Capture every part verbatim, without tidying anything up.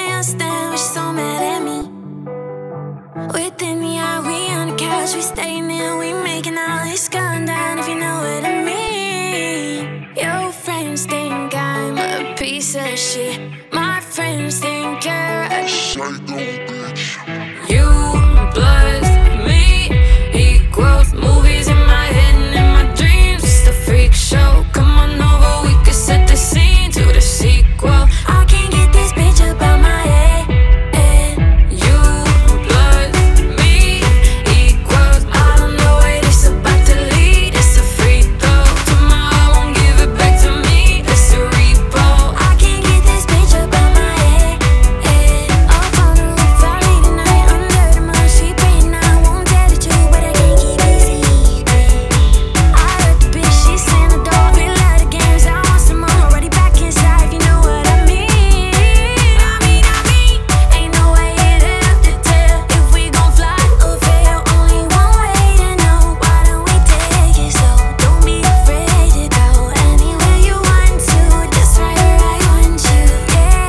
can't stand when she's so mad at me. Within the eye, we on the couch, we staying there, we making out. It's going down if you know what I mean. Your friends think I'm a piece of shit. My friends think you're a psycho bitch. You plus me equals movies in my head and in my dreams. It's a freak show. Come on over, we could set the scene to the sequel. I can't get this bitch up out my head. You plus me equals I don't know where this about to lead. It's a free throw. Tomorrow I won't give it back to me. It's a repo. I can't get this bitch up out my head. Up on the roof, I late at night under the moon. She praying I won't tell the truth, but I can't keep it secret. I heard the bitch, she slammed the door. We love the games, I want some more. Already back inside, if you know what I mean. I mean, I mean, ain't no way it up to tell if we gon' fly or fail. Only one way to know. Why don't we take it slow? Don't be afraid to go anywhere you want to. Just right where I want you, yeah.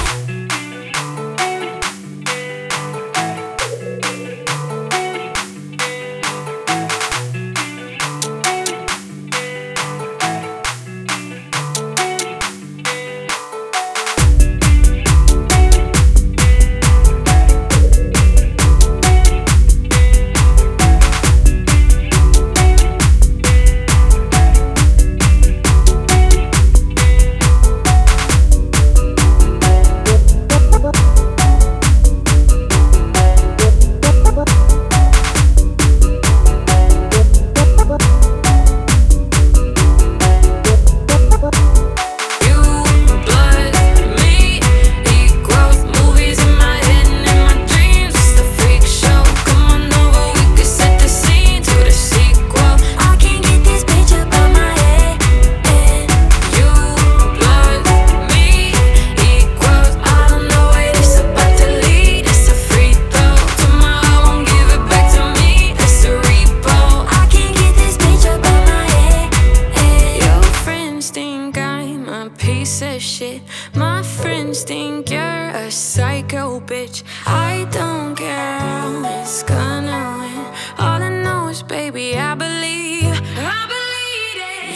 You plus me equals movies in my head and in my dreams. It's a freak show. Come on over, we could set the scene to the sequel. I can't get this bitch up out my head. You plus me equals I don't know where this about to lead. It's a free throw. Tomorrow I won't give it back to me. It's a repo. I can't get this bitch up out my head. Your friends think I'm a piece of shit. My friends think you're a psycho bitch. I don't care who is gonna win. All I know is, baby, I believe. I believe it.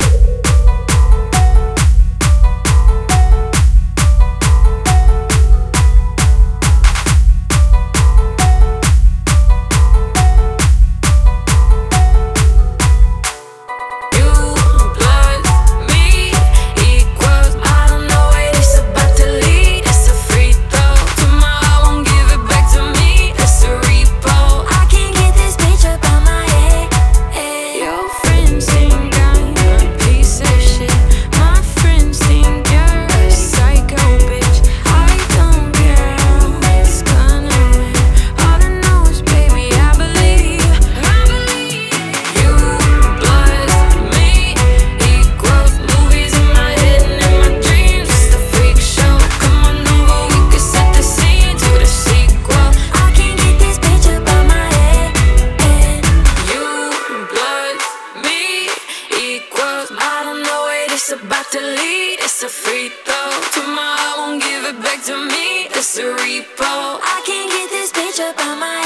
You plus me equals I don't know where this about to lead. It's a free throw. Tomorrow I won't give it back to me. It's a repo. I can't get this bitch up out my head. Your friends think I'm a piece of shit. My friends think you're a psycho bitch. I don't care who is gonna win. All I know is, baby, I believe. I believe. You plus me equals movies in my head and in my dreams. It's a freak show. Come on over, we could set the scene to the sequel. I can't get this bitch up out my head. You plus me equals I don't know where this about to lead. It's a free throw. Tomorrow I won't give it back to me. It's a repo. I can't get this bitch up out my head.